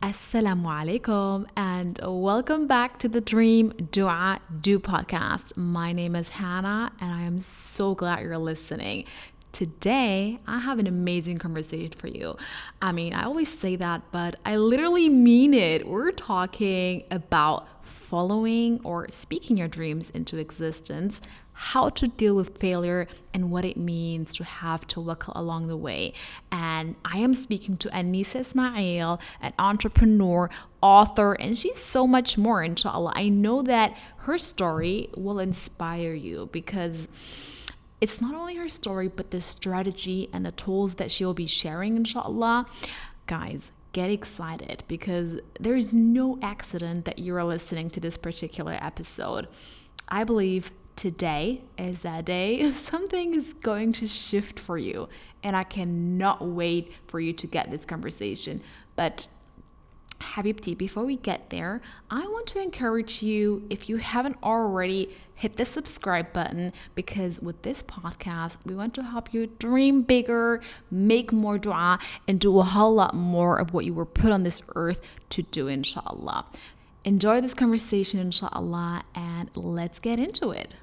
Assalamu alaikum and welcome back to the Dream Dua Do podcast. My name is Hannah and I am so glad you're listening. Today, I have an amazing conversation for you. I mean, I always say that, but I literally mean it. We're talking about following or speaking your dreams into existence, how to deal with failure, and what it means to have tawakkul along the way. And I am speaking to Anisa Ismail, an entrepreneur, author, and she's so much more, inshallah. I know that her story will inspire you because it's not only her story, but the strategy and the tools that she will be sharing, inshallah. Guys, get excited because there is no accident that you are listening to this particular episode. I believe today is that day something is going to shift for you, and I cannot wait for you to get this conversation. But Habibti, before we get there, I want to encourage you, if you haven't already, hit the subscribe button, because with this podcast, we want to help you dream bigger, make more dua, and do a whole lot more of what you were put on this earth to do, inshallah. Enjoy this conversation, inshallah, and let's get into it.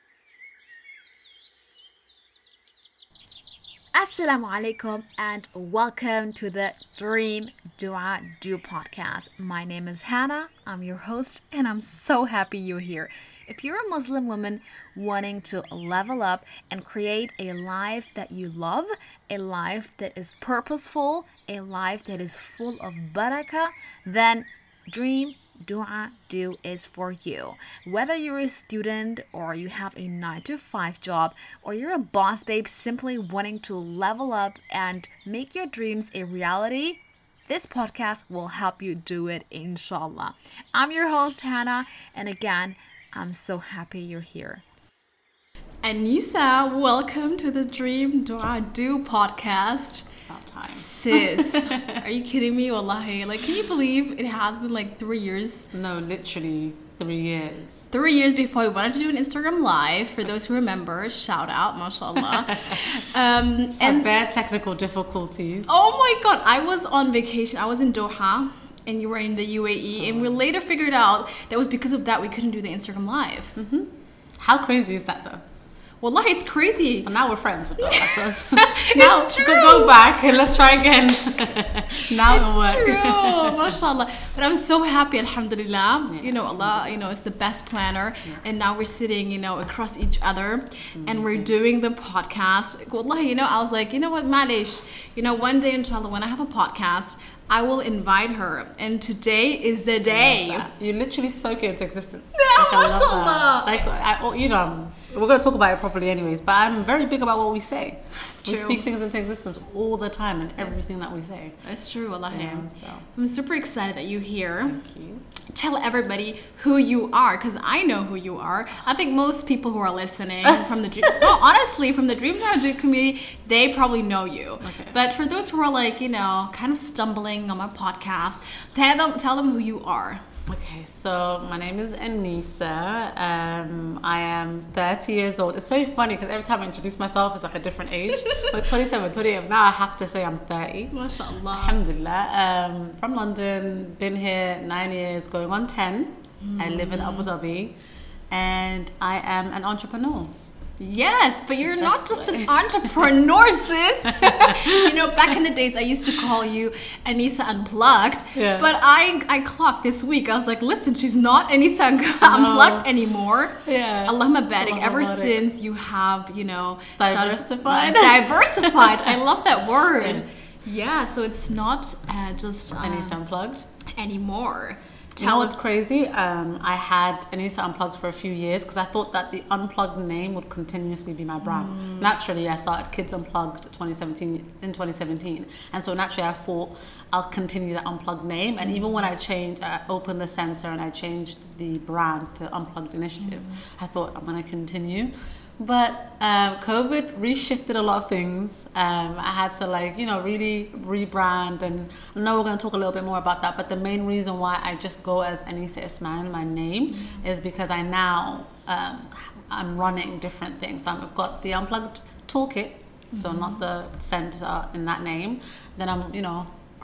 Assalamu alaikum and welcome to the Dream Dua Do podcast. My name is Hannah, I'm your host, and I'm so happy you're here. If you're a Muslim woman wanting to level up and create a life that you love, a life that is purposeful, a life that is full of barakah, then Dream Dua Do is for you. Whether you're a student or you have a 9-to-5 job, or you're a boss babe simply wanting to level up and make your dreams a reality, this podcast will help you do it, inshallah. I'm your host, Hannah, and again, I'm so happy you're here. Anisa, welcome to the Dream Dua Do podcast. About time. Sis, are you kidding me? Wallahi. Like, can you believe it has been like 3 years? No, literally 3 years. 3 years before we wanted to do an Instagram live. For those who remember, shout out, mashallah. And bare technical difficulties. Oh my God, I was on vacation. I was in Doha, and you were in the UAE, and we later figured out that was because of that we couldn't do the Instagram live. Mm-hmm. How crazy is that though? Wallahi, it's crazy. And now we're friends with Doha, so now it's true. Go back and let's try again. Now it'll work. It's true, mashallah. But I'm so happy, alhamdulillah. Yeah. You know, Allah, is the best planner. Yes. And now we're sitting, across each other, and we're doing the podcast. Wallahi, I was like, you know what, malish. One day, inshallah, when I have a podcast, I will invite her, and today is the day. You literally spoke it into existence. Yeah, mashallah. We're going to talk about it properly anyways, but I'm very big about what we say. True. We speak things into existence all the time and everything that we say. That's true, wallahi. Yeah, so. I'm super excited that you're here. Thank you. Tell everybody who you are, because I know who you are. I think most people who are listening from the from the Dream Dua Do community, they probably know you. Okay. But for those who are like, kind of stumbling on my podcast, tell them who you are. Okay, so my name is Anisa. I am 30 years old. It's so funny because every time I introduce myself, it's like a different age. But 27, 28, now I have to say I'm 30. MashaAllah. Alhamdulillah. From London, been here 9 years, going on 10. I live in Abu Dhabi, and I am an entrepreneur. Yes, but you're not just an entrepreneur, sis. Back in the days, I used to call you Anisa Unplugged. Yeah. But I clocked this week. I was like, listen, she's not Anisa Unplugged anymore. Yeah. Allahumma barik. Ever since you have, diversified. Diversified. I love that word. Yeah, so it's not just Anisa Unplugged anymore. You know what's crazy? I had Anisa Unplugged for a few years because I thought that the Unplugged name would continuously be my brand. Naturally, I started Kids Unplugged in 2017. And so naturally, I thought I'll continue that Unplugged name. And even when I opened the center and I changed the brand to Unplugged Initiative, I thought I'm going to continue. But COVID reshifted a lot of things. I had to really rebrand, and I know we're going to talk a little bit more about that, but the main reason why I just go as Anisa Ismail, my name, is because I now I'm running different things. So I've got the Unplugged Toolkit, so not the center in that name. Then I'm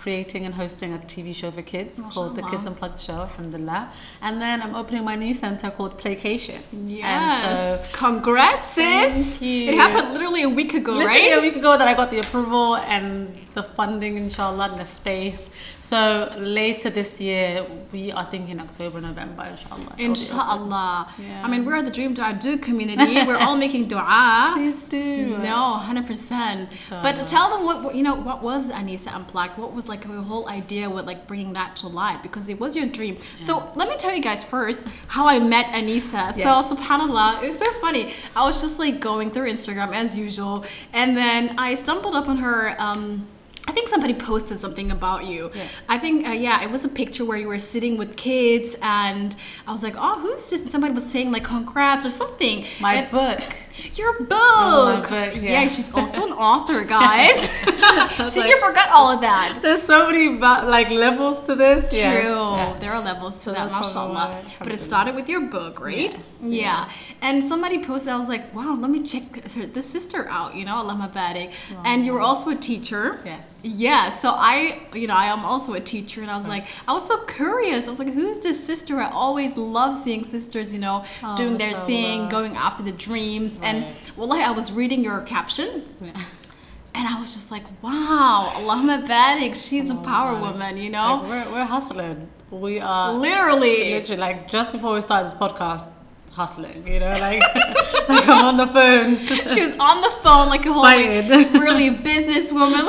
creating and hosting a TV show for kids called The MashaAllah. Kids Unplugged Show, alhamdulillah. And then I'm opening my new center called Playcation. Yes. Congrats, sis. Thank you. It happened literally a week ago, Literally right? a week ago that I got the approval and the funding, inshallah, and the space. So later this year, we are thinking October, November, inshallah. Inshallah. Yeah. I mean, we're the Dream Dua Do community. We're all making dua. Please do. No, 100%. But tell them what was Anisa Unplugged? What was like your whole idea with like bringing that to light? Because it was your dream. Yeah. So let me tell you guys first how I met Anisa. Yes. So subhanallah, it was so funny. I was just like going through Instagram as usual, and then I stumbled upon her. I think somebody posted something about you. Yeah. I think, it was a picture where you were sitting with kids, and I was like, oh, who's this? And somebody was saying like, congrats or something. My book. Your book. Oh, my book, yeah. She's also an author, guys. See, like, you forgot all of that. There's so many levels to this. True. Yes. Yeah. There are levels to that, that's probably mashallah. why, But it started with your book, right? Yes. Yeah. And somebody posted, I was like, wow, let me check this sister out, Allah barik. And you were also a teacher. Yes. Yeah. So I am also a teacher, and I was like, I was so curious. I was like, who's this sister? I always love seeing sisters, doing their thing, going after the dreams. Right. And wallahi, I was reading your caption. Yeah. And I was just like, wow, Allahumma barik, she's a power woman, Like we're hustling. We are literally like just before we started this podcast, hustling, like I'm on the phone. She was on the phone like a whole really businesswoman.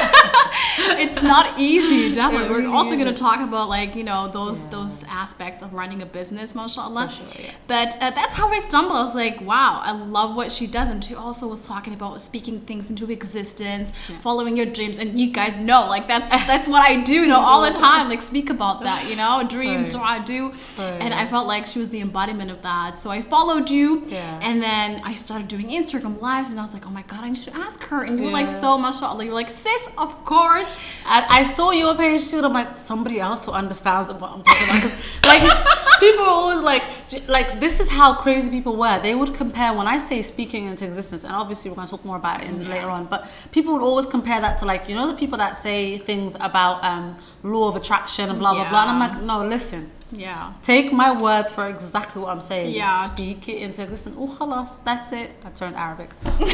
It's not easy, definitely. Really We're also going to talk about those aspects of running a business, mashallah. For sure, yeah. But that's how I stumbled. I was like, wow, I love what she does. And she also was talking about speaking things into existence, following your dreams. And you guys know, like that's what I do, all the time. Like speak about that, dream, dua, do. And I felt like she was the embodiment of that. So I followed you, and then I started doing Instagram lives, and I was like, oh my god, I need to ask her. And you were like, so mashallah, you were like, sis, of course. I saw your page too, and I'm like, somebody else who understands what I'm talking about. Because like people are always like this is how crazy people were. They would compare, when I say speaking into existence, and obviously we're going to talk more about it later on, but people would always compare that to the people that say things about law of attraction and blah blah blah. And I'm like, no, listen. Yeah. Take my words for exactly what I'm saying. Yeah. Speak it into existence. Oh, khalas, that's it. I turned Arabic.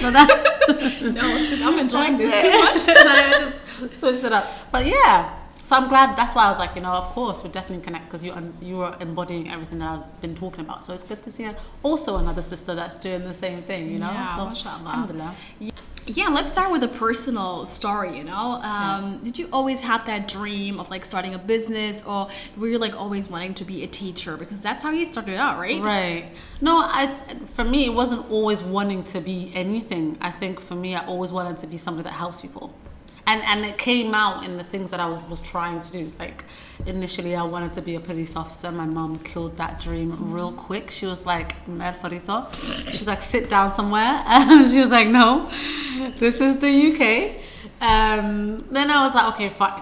No, sis, I'm enjoying this too much. And I just switched it up. But yeah. So I'm glad. That's why I was like, of course, we'll definitely connect, because you are embodying everything that I've been talking about. So it's good to see also another sister that's doing the same thing, Yeah, so, mashallah. alhamdulillah. Yeah, let's start with a personal story, Did you always have that dream of like starting a business, or were you like always wanting to be a teacher? Because that's how you started out, right? Right. No, for me, it wasn't always wanting to be anything. I think for me, I always wanted to be somebody that helps people. And it came out in the things that I was trying to do. Like, initially, I wanted to be a police officer. My mom killed that dream real quick. She was like, Mer Fariso. She's like, sit down somewhere. And she was like, no, this is the UK. Then I was like, okay, fine.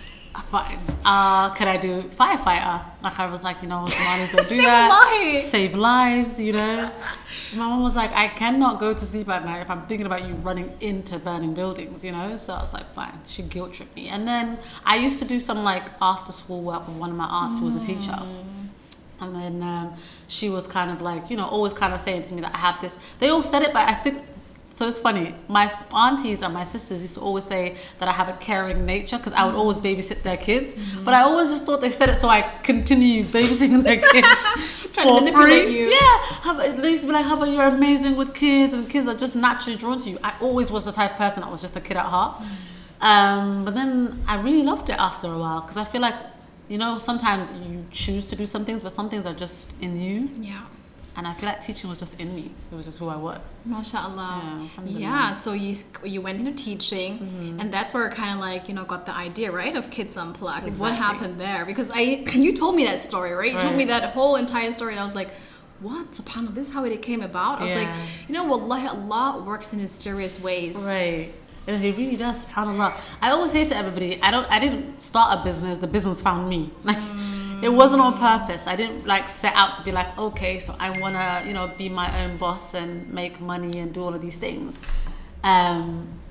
Can I do firefighter? Like, I was like, Somalis don't do that. Save lives, My mom was like, I cannot go to sleep at night if I'm thinking about you running into burning buildings, So I was like, fine. She guilt tripped me. And then I used to do some like after school work with one of my aunts who was a teacher. And then she was kind of like, always kind of saying to me that I have this. They all said it, but I think, so it's funny. My aunties and my sisters used to always say that I have a caring nature, because I would always babysit their kids. But I always just thought they said it so I continue babysitting their kids Trying to manipulate you. Yeah. They used to be like, Haba, you're amazing with kids, and kids are just naturally drawn to you. I always was the type of person that was just a kid at heart. But then I really loved it after a while, because I feel like, sometimes you choose to do some things, but some things are just in you. Yeah. And I feel like teaching was just in me. It was just who I was. MashaAllah. Yeah, so you went into teaching, and that's where kind of like, got the idea, right, of Kids Unplugged. Exactly. What happened there? Because you told me that story, right? You told me that whole entire story, and I was like, what? SubhanAllah, this is how it came about? I was like, wallahi, Allah works in mysterious ways. Right. And He really does, SubhanAllah. I always say to everybody, I didn't start a business, the business found me. Like, it wasn't on purpose. I didn't like set out to be like, okay, so I want to, be my own boss and make money and do all of these things.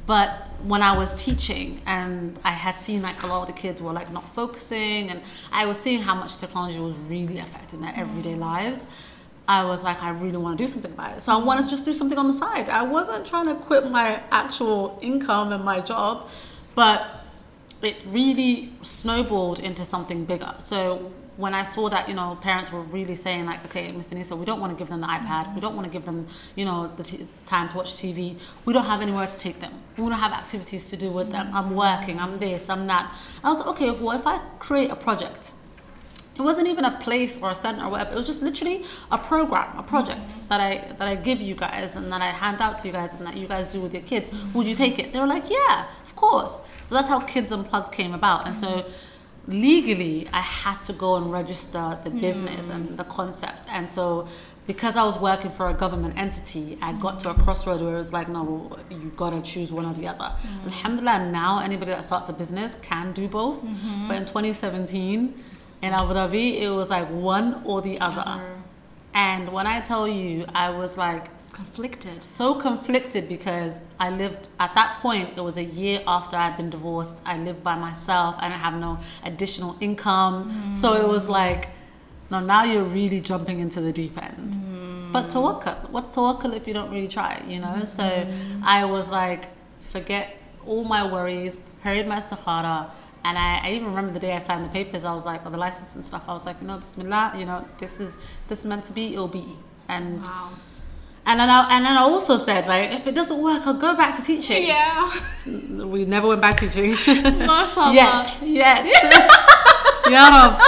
But when I was teaching and I had seen like a lot of the kids were like not focusing, and I was seeing how much technology was really affecting their everyday lives, I was like, I really want to do something about it. So I wanted to just do something on the side. I wasn't trying to quit my actual income and my job, but it really snowballed into something bigger. So when I saw that, parents were really saying like, okay, Mr. Nisa, we don't want to give them the iPad. We don't want to give them, the time to watch TV. We don't have anywhere to take them. We don't have activities to do with them. I'm working, I'm this, I'm that. I was like, okay, well, if I create a project, it wasn't even a place or a center or whatever. It was just literally a program, a project that I give you guys and that I hand out to you guys and that you guys do with your kids. Would you take it? They were like, yeah, of course. So that's how Kids Unplugged came about. And so legally, I had to go and register the business and the concept. And so because I was working for a government entity, I got to a crossroad where it was like, no, you gotta choose one or the other. Alhamdulillah, now anybody that starts a business can do both. But in 2017, in Abu Dhabi, it was like one or the other. And when I tell you, I was like so conflicted because I lived at that point, it was a year after I'd been divorced. I lived by myself. I didn't have no additional income. So it was like, no, now you're really jumping into the deep end. But tawakkul, what's tawakkul if you don't really try, So I was like, forget all my worries, prayed my istikhara. And I even remember the day I signed the papers, I was like, or the license and stuff, I was like, Bismillah, this is meant to be, it'll be. And wow. And then I also said, like, if it doesn't work, I'll go back to teaching. Yeah. We never went back teaching. MashaAllah. Yet. Ya Rab.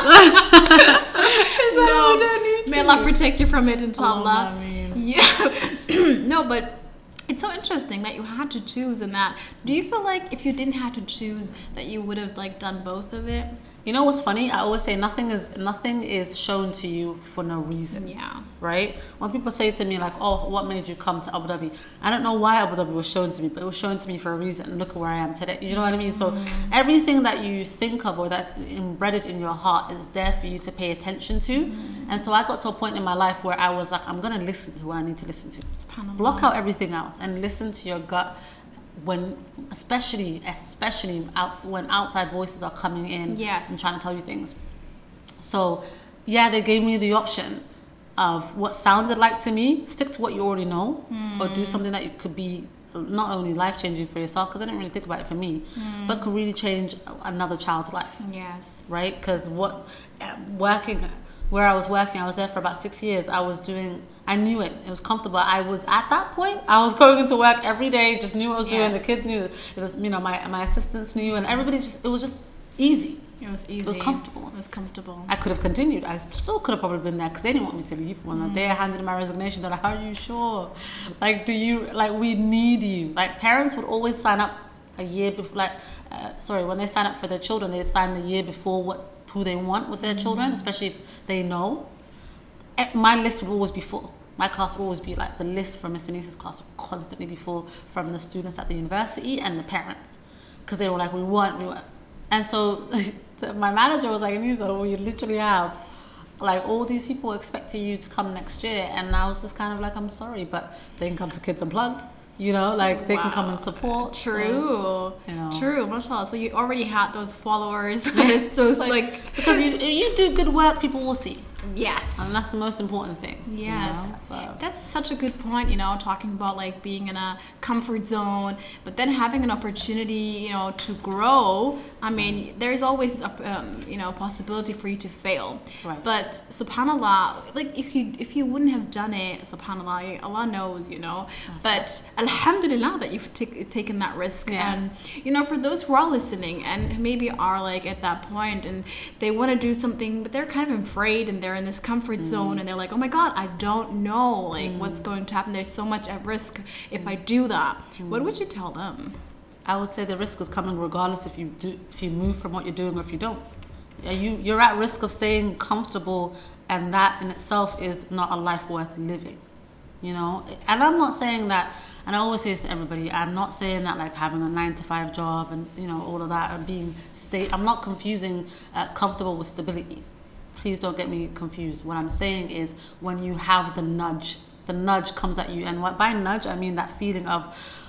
No, we don't need to. May Allah protect you from it, inshallah. I mean. Yeah. No, but it's so interesting that you had to choose in that. Do you feel like if you didn't have to choose that you would have like done both of it? You know what's funny? I always say nothing is shown to you for no reason. Yeah. Right? When people say to me like, oh, what made you come to Abu Dhabi? I don't know why Abu Dhabi was shown to me, but it was shown to me for a reason. Look at where I am today. You know what I mean? So everything that you think of or that's embedded in your heart is there for you to pay attention to. And so I got to a point in my life where I was like, I'm going to listen to what I need to listen to. Block out everything else and listen to your gut. When especially when outside voices are coming in and trying to tell you things. So yeah, they gave me the option of what sounded like to me, stick to what you already know, or do something that could be not only life-changing for yourself, because I didn't really think about it for me, but could really change another child's life. Yes. Right? Because where I was working, I was there for about 6 years. I knew it. It was comfortable. I was at that point, I was going into work every day, just knew what I was doing. The kids knew. It was, my assistants knew, and everybody it was just easy. It was easy. It was comfortable. It was comfortable. I could have continued. I still could have probably been there because they didn't want me to leave. When the day I handed in my resignation, they're like, are you sure? Like, we need you. Like, parents would always sign up a year before, when they sign up for their children, they sign the year before who they want with their children, especially if they know. My list would always be full. My class would always be like the list from Mr. Nisa's class would constantly be full from the students at the university and the parents, because they were like, we want. And so my manager was like, Nisa, we literally have like all these people expecting you to come next year. And I was just kind of like, I'm sorry, but they can come to Kids Unplugged. They can come and support. True. So, True, mashallah. So you already had those followers. Those because you do good work, people will see. Yes. And that's the most important thing. Yes. That's such a good point, talking about like being in a comfort zone, but then having an opportunity, to grow. I mean, there's always a possibility for you to fail. Right. But subhanallah, like if you wouldn't have done it, subhanallah, Allah knows, But alhamdulillah that you've taken that risk. Yeah. And for those who are listening and who maybe are like at that point and they want to do something, but they're kind of afraid and they're in this comfort zone and they're like, oh my God, I don't know what's going to happen. There's so much at risk if I do that. What would you tell them? I would say the risk is coming regardless if you move from what you're doing or if you don't. You're at risk of staying comfortable, and that in itself is not a life worth living. And I'm not saying that, and I always say this to everybody, I'm not saying that like having a 9-to-5 job and all of that and being I'm not confusing comfortable with stability. Please don't get me confused. What I'm saying is when you have the nudge comes at you, and by nudge I mean that feeling of,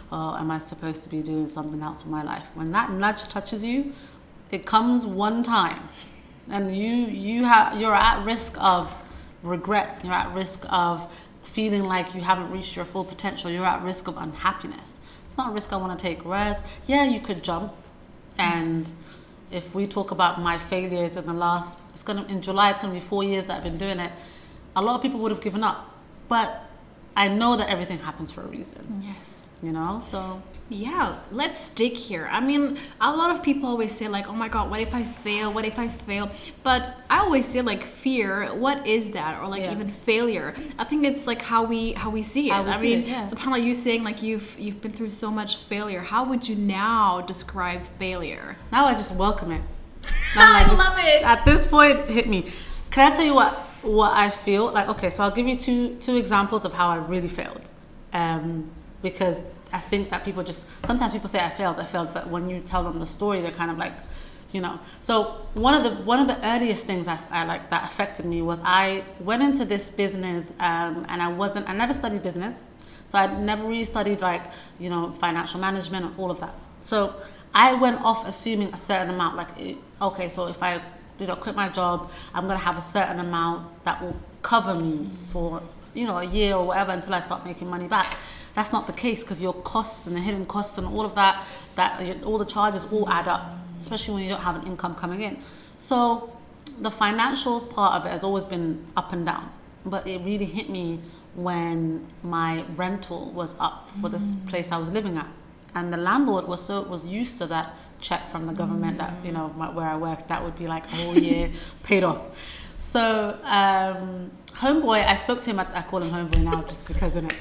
oh, am I supposed to be doing something else with my life? When that nudge touches you, it comes one time, and you're at risk of regret. You're at risk of feeling like you haven't reached your full potential. You're at risk of unhappiness. It's not a risk I want to take. Whereas, yeah, you could jump. And if we talk about my failures in in July, it's gonna be 4 years that I've been doing it. A lot of people would have given up, but I know that everything happens for a reason. Yes. You know, so yeah, let's stick here. I mean, a lot of people always say like, oh my God, what if I fail? What if I fail? But I always say like fear, what is that? Or like even failure. I think it's like how we see it. I mean, subhanAllah, you saying like you've been through so much failure. How would you now describe failure? Now I just welcome it. I love it. At this point, hit me. Can I tell you what I feel? Like, okay, so I'll give you two examples of how I really failed. Because I think that sometimes people say I failed, but when you tell them the story, they're kind of like, you know. So one of the earliest things I like that affected me was I went into this business and I never studied business, so I never really studied like, you know, financial management and all of that. So I went off assuming a certain amount, like, okay, so if I, you know, quit my job, I'm gonna have a certain amount that will cover me for, you know, a year or whatever until I start making money back. That's not the case, because your costs and the hidden costs and all of that all the charges all add up, especially when you don't have an income coming in. So the financial part of it has always been up and down, but it really hit me when my rental was up for this place I was living at, and the landlord was used to that check from the government that, you know, where I worked, that would be like a whole year paid off. So homeboy, I spoke to him I call him homeboy now just because of it.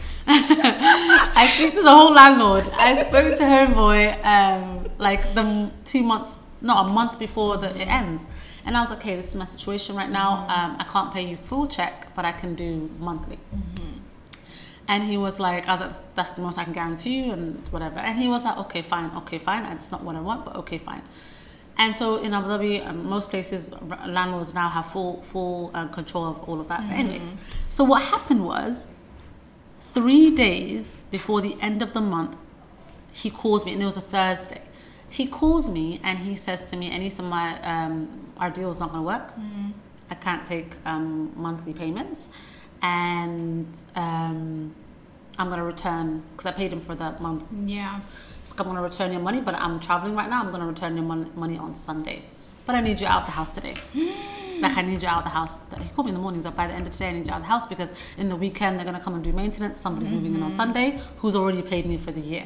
There's a whole landlord. I spoke to homeboy like a month before it ends. And I was like, okay, this is my situation right now. I can't pay you full check, but I can do monthly. And he was like, that's the most I can guarantee you and whatever. And he was like, okay, fine. It's not what I want, but okay, fine. And so in Abu Dhabi, most places, landlords now have full control of all of that. But anyways, so what happened was, 3 days before the end of the month, he calls me, and it was a Thursday. He calls me and he says to me, Anisa, our deal is not going to work. I can't take monthly payments, and I'm going to return, because I paid him for that month. Yeah. I'm going to return your money, but I'm traveling right now. I'm going to return your money on Sunday. But I need you out of the house today. Like, I need you out of the house. He called me in the mornings, like, by the end of today, I need you out of the house, because in the weekend, they're going to come and do maintenance. Somebody's moving in on Sunday who's already paid me for the year.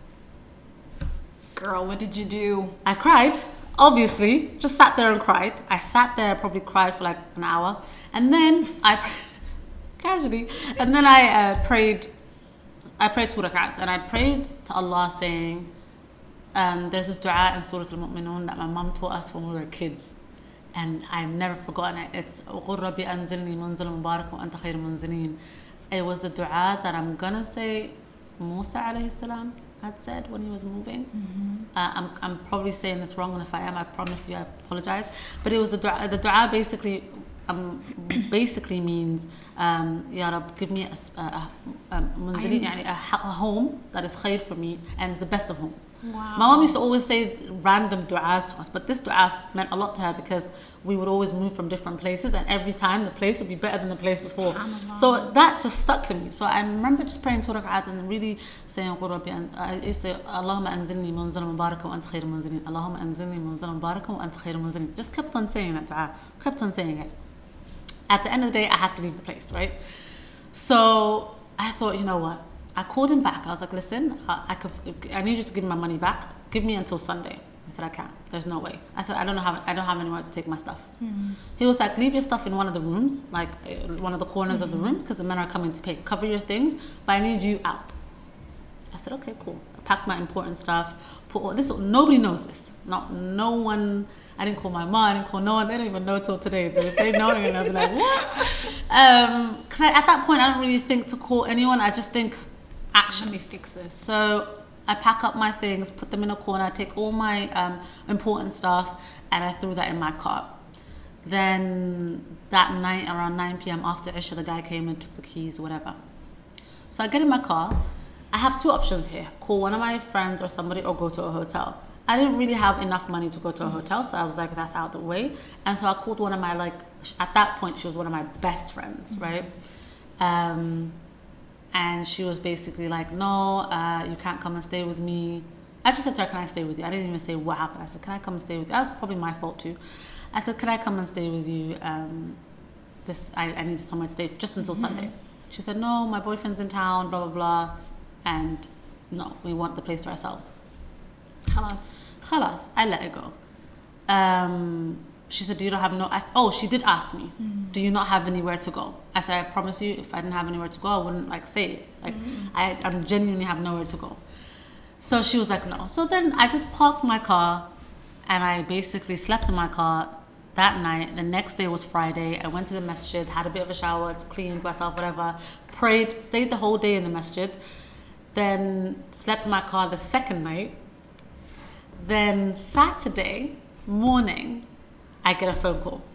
Girl, what did you do? I cried, obviously. Just sat there and cried. I sat there, probably cried for like an hour. And then casually, and then I prayed 2 rak'ats, and I prayed to Allah saying, there's this dua in Surah Al-Mu'minun that my mom taught us when we were kids, and I've never forgotten it. It's قُلْ رَبِّ أَنزِلْنِي مُنزِلًا مُبَارَكًا وَأَنْتَ خَيْرُ الْمُنزِلِينَ. It was the dua that I'm gonna say Musa alayhi salam had said when he was moving. I'm probably saying this wrong, and if I am, I promise you I apologize. But it was the dua basically means, Ya Rab, give me a home that is khair for me and is the best of homes. Wow. My mom used to always say random du'as to us, but this du'a meant a lot to her, because we would always move from different places, and every time the place would be better than the place before. So that's just stuck to me. So I remember just praying 2 rak'at and really saying, I used to say, Allahumma anzilni munzalan mubarakan wa anta khairul munzilin. Allahumma anzilni munzalan mubarakan wa anta khairul munzilin. Just kept on saying that du'a, kept on saying it. At the end of the day, I had to leave the place, right? So I thought, you know what? I called him back. I was like, listen, I need you to give me my money back. Give me until Sunday. He said, I can't. There's no way. I said, I don't have anywhere to take my stuff. He was like, leave your stuff in one of the rooms, like one of the corners of the room, because the men are coming to pay. Cover your things, but I need you out. I said, okay, cool. I packed my important stuff. Put all this. Nobody knows this. No one. I didn't call my mom. I didn't call no one. They don't even know till today. But if they know, they're gonna be like, what? Because at that point, I don't really think to call anyone. I just think, action. Let me fix this. So I pack up my things, put them in a corner, take all my important stuff, and I threw that in my car. Then that night, around 9 p.m. after Isha, the guy came and took the keys, whatever. So I get in my car, I have two options here. Call one of my friends or somebody or go to a hotel. I didn't really have enough money to go to a hotel, so I was like, that's out of the way. And so I called one of my, like, at that point, she was one of my best friends, right? And she was basically like, no, you can't come and stay with me. I just said to her, can I stay with you? I didn't even say what happened. I said, can I come and stay with you? That was probably my fault too. I said, can I come and stay with you? I need somewhere to stay just until Sunday. She said, no, my boyfriend's in town, blah, blah, blah. And no, we want the place to ourselves. Khalas, I let it go. She said, do you not have she did ask me, do you not have anywhere to go? I said, I promise you, if I didn't have anywhere to go, I wouldn't like say it. Like, I genuinely have nowhere to go. So she was like, no. So then I just parked my car and I basically slept in my car that night. The next day was Friday. I went to the masjid, had a bit of a shower, cleaned myself, whatever, prayed, stayed the whole day in the masjid, then slept in my car the second night. Then Saturday morning, I get a phone call.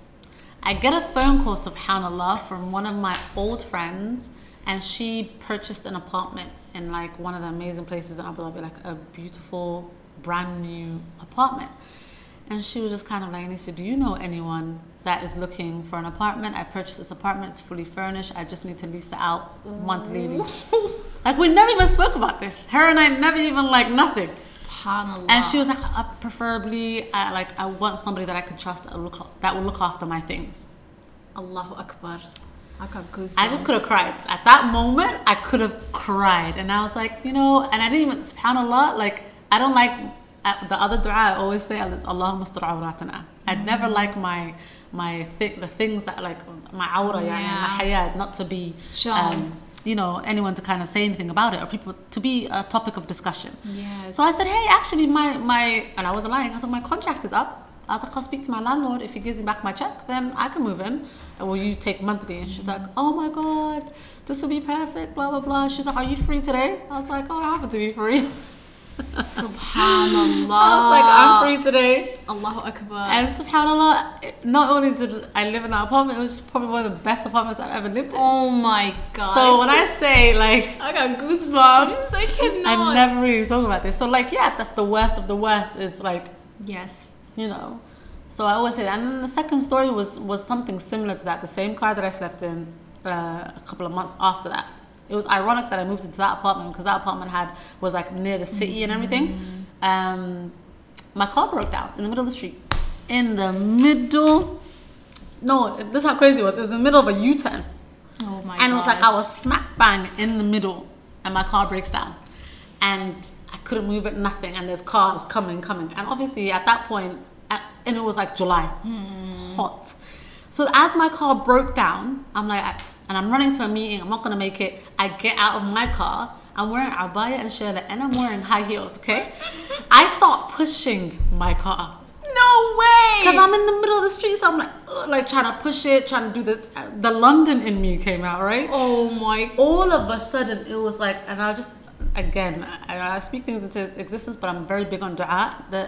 Subhanallah, from one of my old friends, and she purchased an apartment in like one of the amazing places in Abu Dhabi, like a beautiful, brand new apartment. And she was just kind of like, Anisa, do you know anyone that is looking for an apartment? I purchased this apartment, it's fully furnished. I just need to lease it out, monthly lease. Like, we never even spoke about this. Her and I never even like nothing. SubhanAllah. And she was like, preferably, I want somebody that I can trust that will look after my things. Allahu Akbar. I got goosebumps. I just could have cried. At that moment, I could have cried. And I was like, and I didn't even, SubhanAllah, like, I don't like, the other dua I always say, Allahumma astur awratana. I'd never like the things that, like, my awra, my hayat, not to be anyone to kind of say anything about it, or people to be a topic of discussion. Yes. So I said, hey, actually my and I wasn't lying. I said, my contract is up. I was like, I'll speak to my landlord. If he gives me back my check, then I can move in. And will you take monthly? And she's like, oh my God, this will be perfect, blah, blah, blah. She's like, are you free today? I was like, oh, I happen to be free. SubhanAllah. I was like, I'm free today. Allahu Akbar. And SubhanAllah, not only did I live in that apartment, it was probably one of the best apartments I've ever lived in. Oh my God. So when I say, like, I got goosebumps. I cannot. I never really talk about this. So, like, yeah, that's the worst of the worst, is like, yes, So I always say that. And then the second story was something similar to that. The same car that I slept in a couple of months after that. It was ironic that I moved into that apartment because that apartment was like near the city and everything. My car broke down in the middle of the street. This is how crazy it was. It was in the middle of a U-turn. Oh my god. And it was like I was smack bang in the middle and my car breaks down. And I couldn't move it, nothing. And there's cars coming. And obviously at that point, and it was like July, hot. So as my car broke down, I'm like, and I'm running to a meeting, I'm not going to make it. I get out of my car, I'm wearing abaya and shayla, and I'm wearing high heels, okay? I start pushing my car. No way! Because I'm in the middle of the street, so I'm like trying to push it, trying to do this. The London in me came out, right? Oh my. All of a sudden, it was like, and I just, again, I speak things into existence, but I'm very big on dua.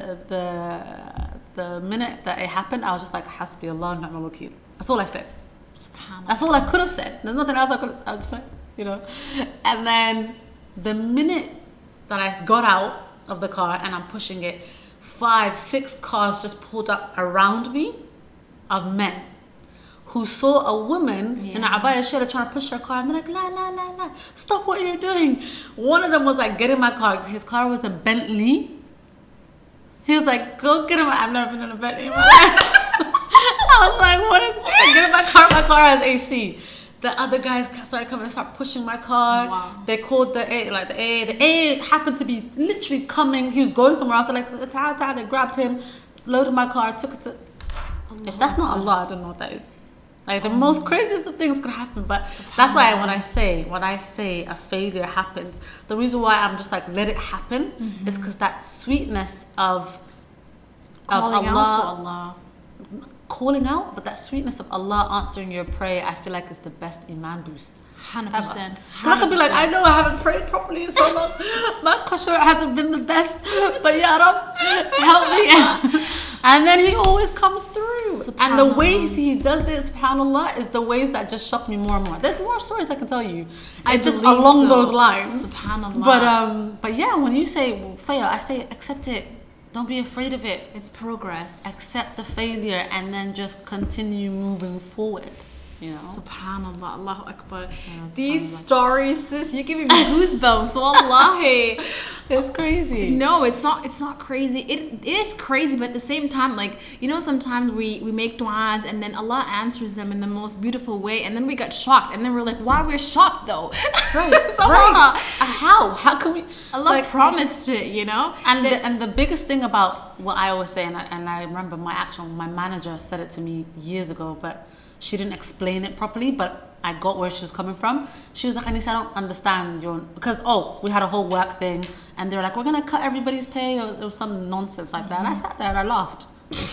The minute that it happened, I was just like, Hasbi Allah ni'mal wakeel. That's all I said. That's all I could have said. There's nothing else I could have. I was just like, And then the minute that I got out of the car and I'm pushing it, 5-6 cars just pulled up around me of men who saw a woman in a abaya shayla trying to push her car, and they're like, la, stop what you're doing. One of them was like, get in my car. His car was a Bentley. He was like, go get him. I've never been in a Bentley in my life. I was like, what is this? Like, get in my car. My car has AC. The other guys started coming and start pushing my car. Wow. They called the A. The A happened to be literally coming. He was going somewhere else. They're like, they grabbed him, loaded my car, took it to... Allah. If that's not Allah, I don't know what that is. Like, the most craziest of things could happen. But that's why when I say a failure happens, the reason why I'm just like, let it happen, is because that sweetness of calling Allah, out to Allah. Calling out, but that sweetness of Allah answering your prayer, I feel like is the best iman boost. 100%. I could be like, I know I haven't prayed properly in so long. My khushu' hasn't been the best, but Ya Rab, help me. And then he always comes through. And the ways he does it, subhanAllah, is the ways that just shock me more and more. There's more stories I can tell you. It's just along those lines. SubhanAllah. But yeah, when you say fail, I say accept it. Don't be afraid of it. It's progress. Accept the failure and then just continue moving forward. You know? SubhanAllah, Allahu Akbar. Yeah, These stories, sis, you're giving me goosebumps. Wallahi. It's crazy. No, it's not crazy. It is crazy, but at the same time, like, you know, sometimes we make du'as and then Allah answers them in the most beautiful way, and then we got shocked, and then we're like, why we're shocked though? Right. So right. How can we? Allah promised it, you know. And the biggest thing about what I always say, and I remember my manager said it to me years ago, but she didn't explain it properly, but I got where she was coming from. She was like, Anisa, I don't understand because we had a whole work thing, and they were like, we're gonna cut everybody's pay, or it was some nonsense like that. And I sat there and I laughed.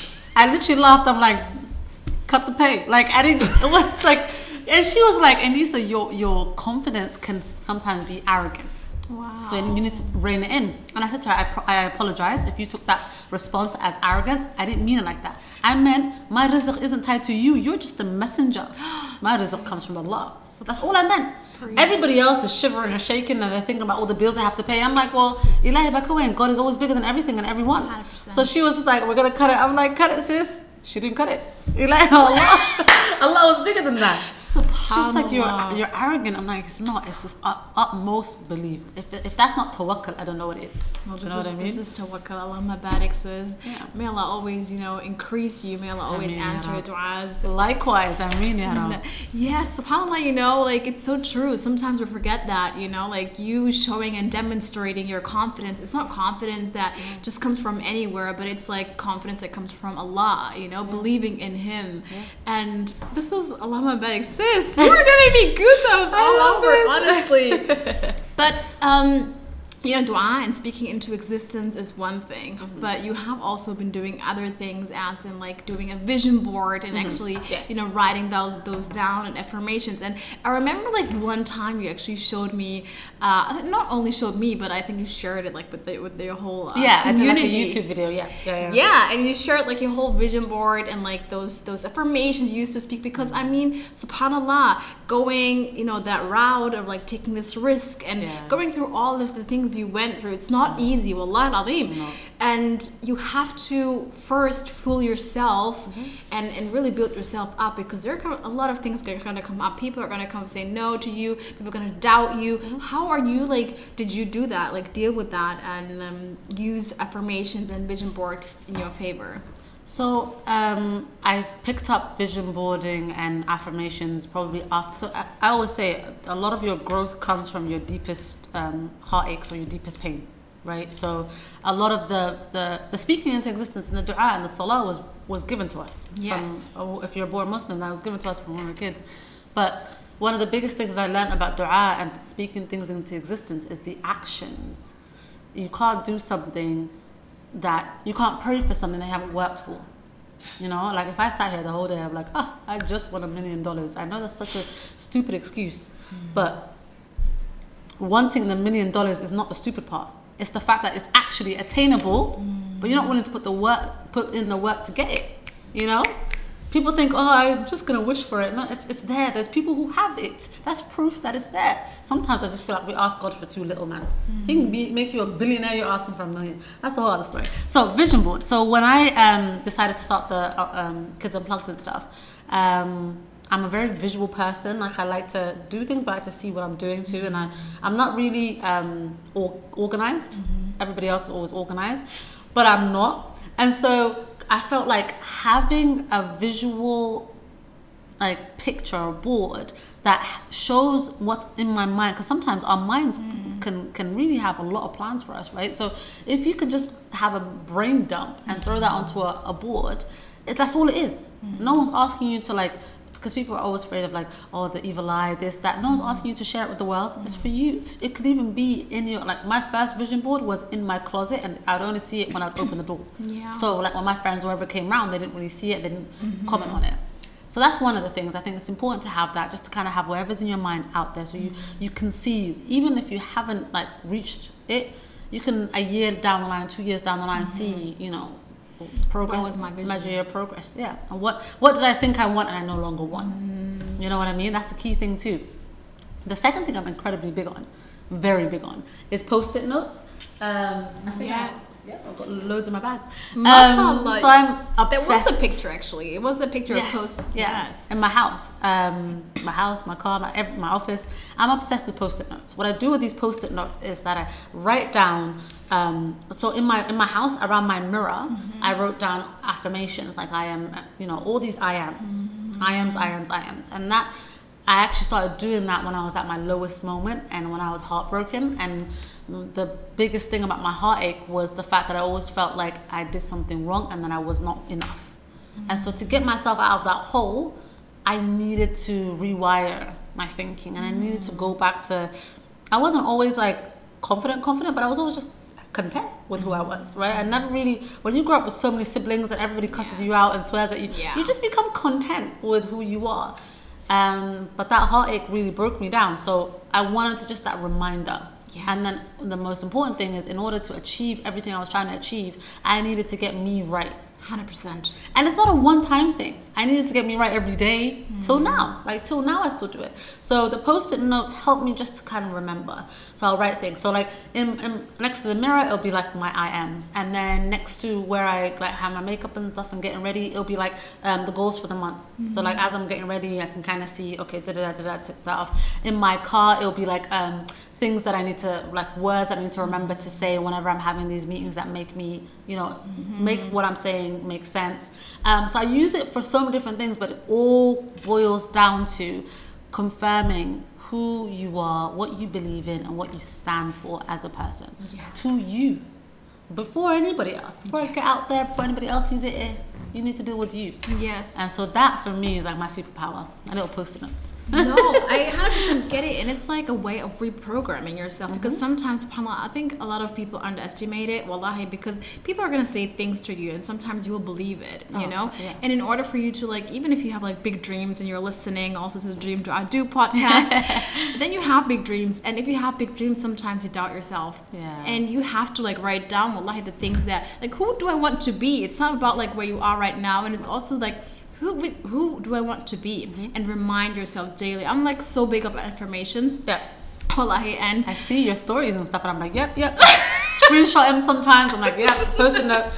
I literally laughed. I'm like, cut the pay. Like, I didn't. It was like, and she was like, Anisa, your confidence can sometimes be arrogance. Wow. So you need to rein it in. And I said to her, I apologize if you took that response as arrogance. I didn't mean it like that. I meant my rizq isn't tied to you. You're just a messenger. My rizq comes from Allah. So that's all I meant. Everybody else is shivering and shaking and they're thinking about all the bills they have to pay. I'm like, well, Ilahi Bakawain, God is always bigger than everything and everyone. 100%. So she was just like, we're going to cut it. I'm like, cut it, sis. She didn't cut it. Ilahi Allah. Allah was bigger than that. She was like, you're arrogant. I'm like, it's not. It's just utmost belief. If that's not tawakkul, I don't know what it is. Well, Do you know what I mean? This is tawakkul. Allahumma barik, sis. Yeah. May Allah always, increase you. May Allah always answer your du'as. Likewise, I mean, Yes, subhanAllah, like, it's so true. Sometimes we forget that, like, you showing and demonstrating your confidence. It's not confidence that just comes from anywhere, but it's like confidence that comes from Allah, believing in Him. Yeah. And this is Allahumma barik, sis. You were giving me goosebumps all over, honestly. But dua and speaking into existence is one thing, but you have also been doing other things, as in like doing a vision board and actually, writing those down and affirmations. And I remember like one time you actually showed me, not only showed me, but I think you shared it like with your whole community. I did like a YouTube video. Yeah, and you shared like your whole vision board and like those affirmations you used to speak, because I mean, subhanAllah, going that route of like taking this risk and going through all of the things you went through, it's not easy, wallahi al-azim. And you have to first fool yourself and really build yourself up, because there are a lot of things that are going to come up. People are going to come say no to you. People are going to doubt you. How are you, like, did you do that, like deal with that and use affirmations and vision board in your favor? So I picked up vision boarding and affirmations probably after. So I always say a lot of your growth comes from your deepest heartaches or your deepest pain, right? So a lot of the speaking into existence and the dua and the salah was given to us. Yes. If you're a born Muslim, that was given to us from when we were kids. But one of the biggest things I learned about dua and speaking things into existence is the actions. You can't do something that you can't pray for something they haven't worked for. Like if I sat here the whole day, I'm like, I just won $1 million. I know that's such a stupid excuse, but wanting the $1 million is not the stupid part. It's the fact that it's actually attainable, but you're not willing to put in the work to get it. People think, I'm just gonna wish for it. No, it's there. There's people who have it. That's proof that it's there. Sometimes I just feel like we ask God for too little, man. He can make you a billionaire, you're asking for $1 million. That's a whole other story. So vision board. So when I decided to start the Kids Unplugged and stuff, I'm a very visual person. Like I like to do things, but I like to see what I'm doing too. And I'm not really organized. Everybody else is always organized, but I'm not. And so I felt like having a visual picture or board that shows what's in my mind, because sometimes our minds can really have a lot of plans for us, right? So if you can just have a brain dump and throw that onto a board, that's all it is. No one's asking you to because people are always afraid of the evil eye, this, that. No one's asking you to share it with the world. It's for you. It could even be in your, my first vision board was in my closet, and I'd only see it when I'd open the door. Yeah. So when my friends or whoever came around, they didn't really see it, they didn't comment on it. So that's one of the things. I think it's important to have that, just to kind of have whatever's in your mind out there, so you can see, even if you haven't reached it, you can a year down the line, 2 years down the line, see, progress. What was my vision? Measure your progress. Yeah. And what did I think I want and I no longer want? You know what I mean? That's the key thing too. The second thing I'm incredibly big on, very big on, is post-it notes. I think I've got loads in my bag. Mashallah. So I'm obsessed. There was a picture actually. It was a picture of post. Yes. In my house, my car, my office. I'm obsessed with post-it notes. What I do with these post-it notes is that I write down. So in my house, around my mirror, I wrote down affirmations like I am. All these I ams, I ams, and that. I actually started doing that when I was at my lowest moment and when I was heartbroken. And the biggest thing about my heartache was the fact that I always felt like I did something wrong and that I was not enough. And so to get myself out of that hole, I needed to rewire my thinking, and I needed to go back to, I wasn't always like confident, but I was always just content with who I was, right? I never really, when you grow up with so many siblings and everybody cusses you out and swears at you, you just become content with who you are. But that heartache really broke me down. So I wanted to just that reminder. Yes. And then the most important thing is, in order to achieve everything I was trying to achieve, I needed to get me right. 100%. And it's not a one-time thing. I needed to get me right every day till now. Like till now, I still do it. So the post-it notes help me just to kind of remember. So I'll write things. So like in next to the mirror, it'll be like my I ams, and then next to where I like have my makeup and stuff and getting ready, it'll be like the goals for the month. So like as I'm getting ready, I can kind of see, okay, tick that off. In my car, it'll be like things that I need to, like words that I need to remember to say whenever I'm having these meetings that make me, make what I'm saying make sense. So I use it for so many different things, but it all boils down to confirming who you are, what you believe in, and what you stand for as a person. Yes. To you. Before anybody else. Before I get out there, before anybody else sees it, you need to deal with you. Yes. And so that for me is like my superpower. My little post-it notes. No, I 100% get it, and it's like a way of reprogramming yourself, because sometimes, subhanAllah, I think a lot of people underestimate it, wallahi, because people are going to say things to you and sometimes you will believe it, you know? Yeah. And in order for you to, like, even if you have like big dreams and you're listening also to the Dream Dua Do podcast, then you have big dreams, and if you have big dreams, sometimes you doubt yourself. Yeah. And you have to like write down, wallahi, the things that, like, who do I want to be? It's not about like where you are right now, and it's also like, who do I want to be? And remind yourself daily. I'm like so big up affirmations. Yeah. Wallahi, and I see your stories and stuff, and I'm like, yep. Screenshot them sometimes. I'm like, yeah, post a note.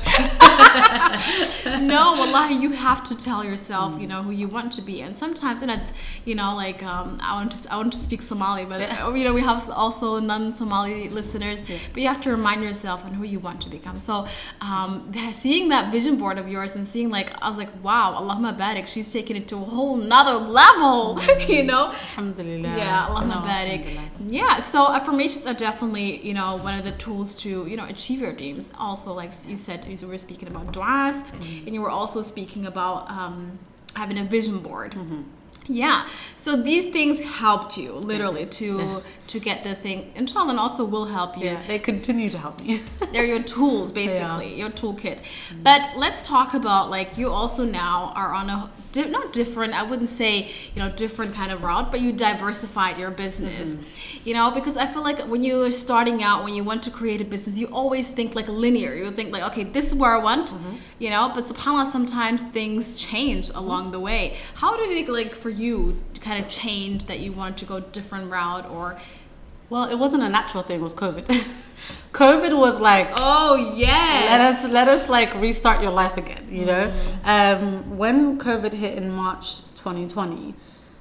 No, wallahi, you have to tell yourself, who you want to be. And sometimes, and it's, like, I want to speak Somali, but we have also non-Somali listeners. Yeah. But you have to remind yourself on who you want to become. So, seeing that vision board of yours and seeing, like, I was like, wow, Allahumma barik, she's taking it to a whole nother level. Alhamdulillah. Yeah, Allahumma barik. Yeah, so affirmations are definitely, one of the tools to, achieve your dreams. Also, like you said, you were speaking about du'as, and you were also speaking about having a vision board. Yeah, so these things helped you literally to get the thing, inshallah, and also will help you. Yeah, they continue to help me. They're your tools, basically, your toolkit. But let's talk about, like, you also now are on a not different, I wouldn't say, different kind of route, but you diversified your business, because I feel like when you're starting out, when you want to create a business, you always think like linear. You think like, okay, this is where I want, but subhanAllah, sometimes things change along the way. How did it, like, for you kind of change that you wanted to go different route? Or well, it wasn't a natural thing, it was COVID. COVID was like, oh yes, let us like restart your life again, when COVID hit in March 2020,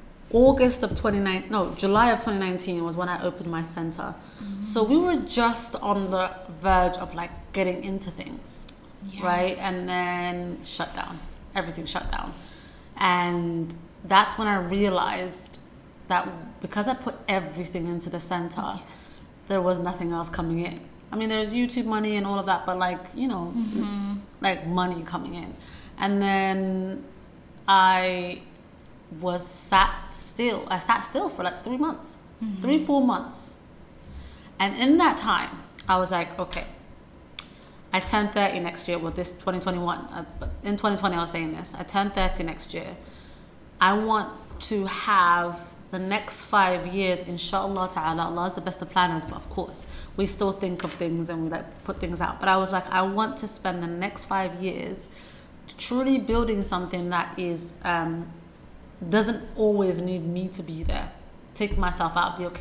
July of 2019 was when I opened my center. So we were just on the verge of like getting into things, right? And then everything shut down. And that's when I realized that because I put everything into the center, there was nothing else coming in. I mean, there's YouTube money and all of that, but like, like money coming in. And then I sat still for like 3 months, 3-4 months. And in that time, I was like, okay, I turned 30 next year. Well, this 2021, but in 2020, I was saying this. I turned 30 next year. I want to have the next 5 years, inshallah ta'ala, Allah is the best of planners, but of course, we still think of things and we like put things out. But I was like, I want to spend the next 5 years truly building something that is, doesn't always need me to be there. Take myself out of the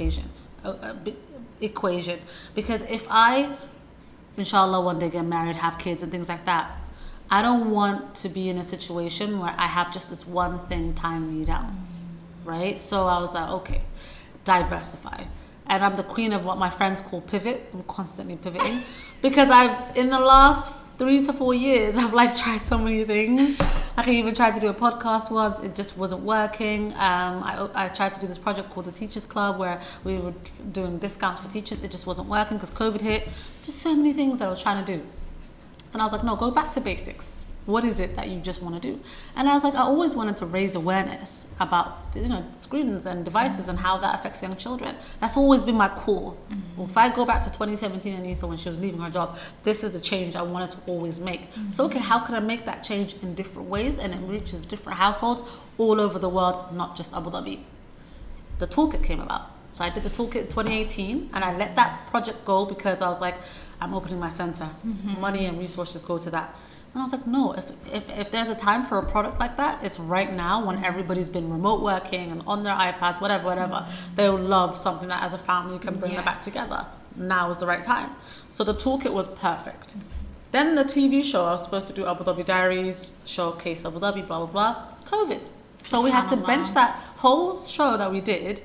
equation. Because if I, inshallah, one day get married, have kids and things like that, I don't want to be in a situation where I have just this one thing time me down, right? So I was like, okay, diversify. And I'm the queen of what my friends call pivot. I'm constantly pivoting because in the last 3 to 4 years, I've like tried so many things. Like I even tried to do a podcast once. It just wasn't working. I tried to do this project called the Teachers Club where we were doing discounts for teachers. It just wasn't working because COVID hit. Just so many things that I was trying to do. And I was like, no, go back to basics. What is it that you just want to do? And I was like, I always wanted to raise awareness about, screens and devices and how that affects young children. That's always been my core. If I go back to 2017, Anissa, when she was leaving her job, this is the change I wanted to always make. So, okay, how can I make that change in different ways and it reaches different households all over the world, not just Abu Dhabi? The toolkit came about. So I did the toolkit in 2018 and I let that project go because I was like, I'm opening my center. Money and resources go to that. And I was like, no, if there's a time for a product like that, it's right now when everybody's been remote working and on their iPads, whatever. They'll love something that as a family can bring them back together. Now is the right time. So the toolkit was perfect. Then the TV show, I was supposed to do Abu Dhabi Diaries, showcase Abu Dhabi, blah, blah, blah. COVID. So we had to bench that whole show that we did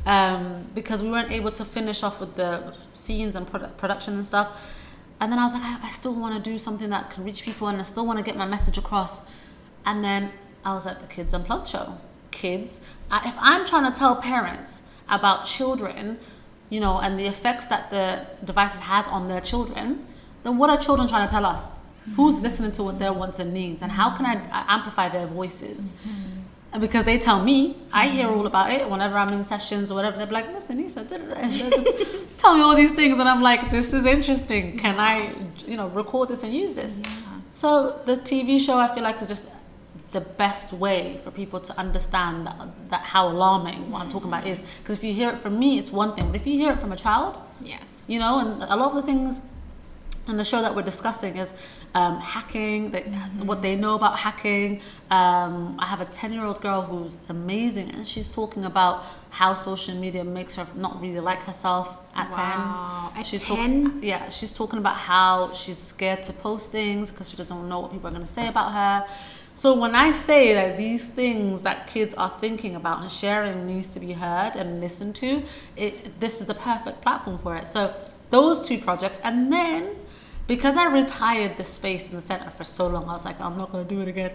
because we weren't able to finish off with the scenes and production and stuff. And then I was like, I still want to do something that can reach people and I still want to get my message across. And then I was at the Kids Unplugged show. If I'm trying to tell parents about children, and the effects that the devices has on their children, then what are children trying to tell us? Who's listening to what their wants and needs? And how can I amplify their voices? And because they tell me, I hear all about it whenever I'm in sessions or whatever. They're like, listen, Nisa, just tell me all these things. And I'm like, this is interesting. Can I, record this and use this? Yeah. So the TV show, I feel like, is just the best way for people to understand that how alarming what I'm talking about is. Because if you hear it from me, it's one thing. But if you hear it from a child, yes, and a lot of the things in the show that we're discussing is hacking, what they know about hacking. I have a 10-year-old girl who's amazing, and she's talking about how social media makes her not really like herself at 10. At 10? She's talking about how she's scared to post things because she doesn't know what people are going to say about her. So when I say that these things that kids are thinking about and sharing needs to be heard and listened to, this is the perfect platform for it. So those 2 projects, and then because I retired the space in the center for so long, I was like, I'm not going to do it again.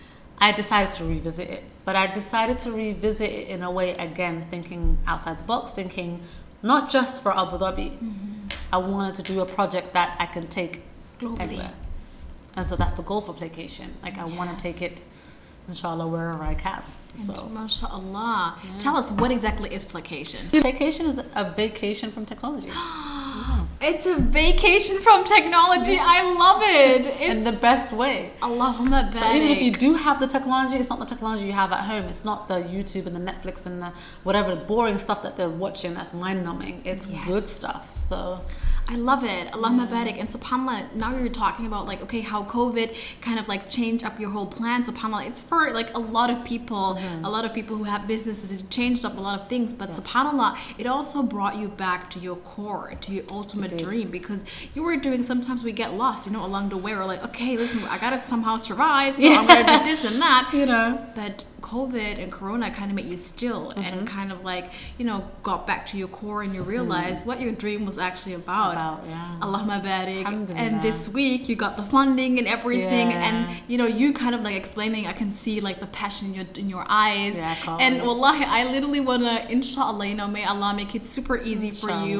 I decided to revisit it. But I decided to revisit it in a way, again, thinking outside the box, thinking not just for Abu Dhabi. I wanted to do a project that I can take globally. Anywhere. And so that's the goal for Playcation. Like I want to take it, inshallah, wherever I can. So, MashaAllah. Yeah. Tell us, what exactly is Playcation? Playcation is a vacation from technology. It's a vacation from technology. I love it. In the best way. Allahumma barik. So even if you do have the technology, it's not the technology you have at home. It's not the YouTube and the Netflix and the whatever boring stuff that they're watching that's mind-numbing. It's good stuff. So I love it. Allahumma barik. And subhanAllah, now you're talking about like, okay, how COVID kind of like changed up your whole plan. SubhanAllah, it's for like a lot of people, who have businesses. It changed up a lot of things. But SubhanAllah, it also brought you back to your core, to your ultimate dream, because you were doing, sometimes we get lost, along the way. We're like, okay, listen, I got to somehow survive. So I'm going to do this and that. But COVID and Corona kind of made you still and kind of like, got back to your core and you realized what your dream was actually about. Allahumma barik. And this week you got the funding and everything, and you kind of like explaining, I can see like the passion in your eyes, and wallahi, I literally wanna, inshallah, may Allah make it super easy for you.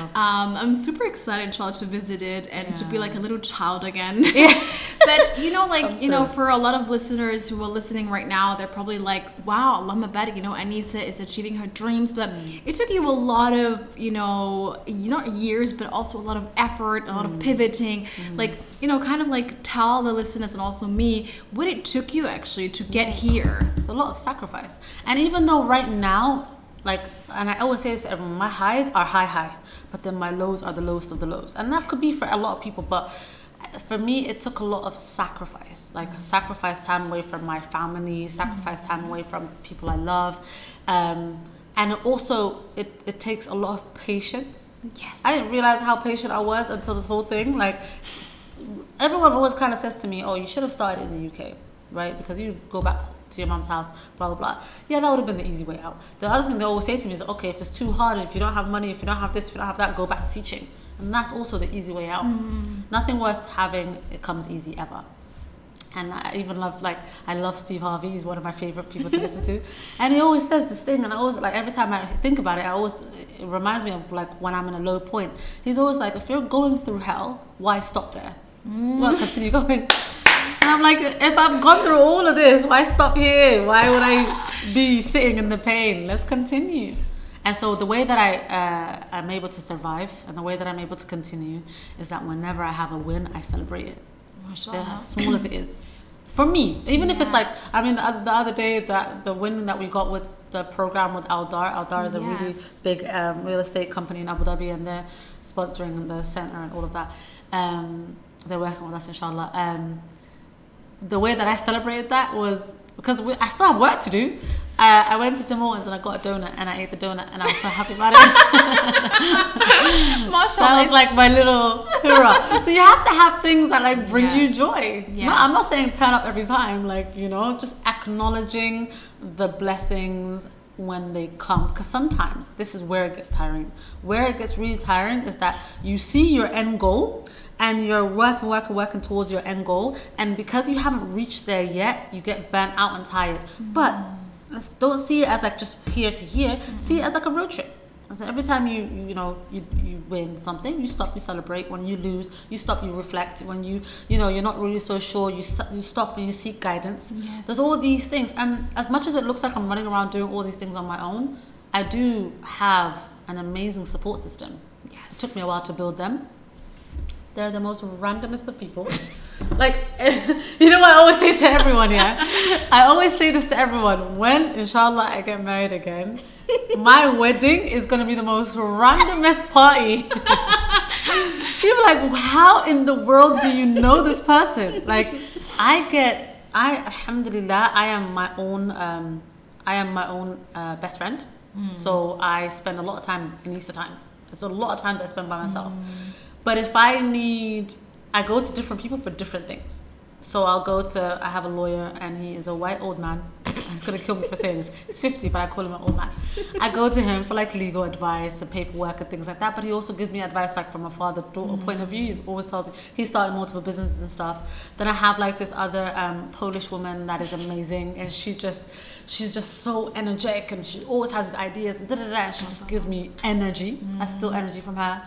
I'm super excited, inshallah, to visit it and to be like a little child again. But for a lot of listeners who are listening right now, they're probably like, wow, Allahumma barik, Anissa is achieving her dreams, but it took you a lot of not years, but also a lot of effort, a lot of pivoting, kind of like tell the listeners and also me what it took you actually to get here. It's a lot of sacrifice. And even though right now, Like, and I always say this to everyone, my highs are high, but then my lows are the lowest of the lows. And that could be for a lot of people, but for me, it took a lot of sacrifice. Like, sacrifice time away from my family, sacrifice time away from people I love. And it takes a lot of patience. Yes. I didn't realize how patient I was until this whole thing. Like, everyone always kind of says to me, oh, you should have started in the UK, right? Because you go back to your mom's house, blah, blah, blah. Yeah, that would have been the easy way out. The other thing they always say to me is, okay, if it's too hard, if you don't have money, if you don't have this, if you don't have that, go back to teaching. And that's also the easy way out. Nothing worth having, it comes easy ever. And I even love, like, I love Steve Harvey. He's one of my favorite people to listen to. And he always says this thing, and I always, like, every time I think about it, it reminds me of, like, when I'm in a low point. He's always like, if you're going through hell, why stop there? Well, continue going. And I'm like, if I've gone through all of this, why stop here? Why would I be sitting in the pain? Let's continue. And so the way that I'm able to survive and the way that I'm able to continue is that whenever I have a win, I celebrate it. As small as it is. For me, even if it's like, I mean, the other day, the win that we got with the program with Aldar. Aldar is a really big real estate company in Abu Dhabi, and they're sponsoring the center and all of that. They're working with us, inshallah. The way that I celebrated that was because I still have work to do. I went to Tim Hortons and I got a donut and I ate the donut and I was so happy about it. That was like my little hurrah. So you have to have things that like bring you joy. Yes. No, I'm not saying turn up every time, like, you know, just acknowledging the blessings when they come, because sometimes this is where it gets tiring. Where it gets really tiring is that you see your end goal and you're working towards your end goal, and because you haven't reached there yet, you get burnt out and tired. But don't see it as like just here to here. See it as like a road trip. And so every time you win something, you stop, you celebrate. When you lose, you stop, you reflect. When you're not really so sure, you stop and you seek guidance. Yes. There's all these things, and as much as it looks like I'm running around doing all these things on my own, I do have an amazing support system. Yes. It took me a while to build them. They're the most randomest of people. Like, you know what I always say to everyone, yeah? I always say this to everyone. When, inshallah, I get married again, my wedding is going to be the most randomest party. People are like, how in the world do you know this person? Like, alhamdulillah, I am my own best friend. So I spend a lot of time in Easter time. There's a lot of times I spend by myself. But if I go to different people for different things. So I have a lawyer and he is a white old man. He's going to kill me for saying this. He's 50, but I call him an old man. I go to him for like legal advice and paperwork and things like that. But he also gives me advice like from a father-daughter point of view. He always tells me he started multiple businesses and stuff. Then I have like this other Polish woman that is amazing. And she's just so energetic and she always has these ideas. And she just gives me energy. I steal energy from her.